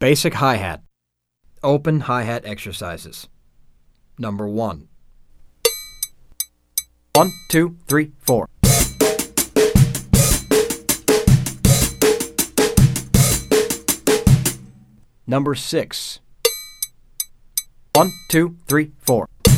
Basic hi-hat. Open hi-hat exercises. Number 1. 1, 2, 3, 4. Number 6. 1, 2, 3, 4.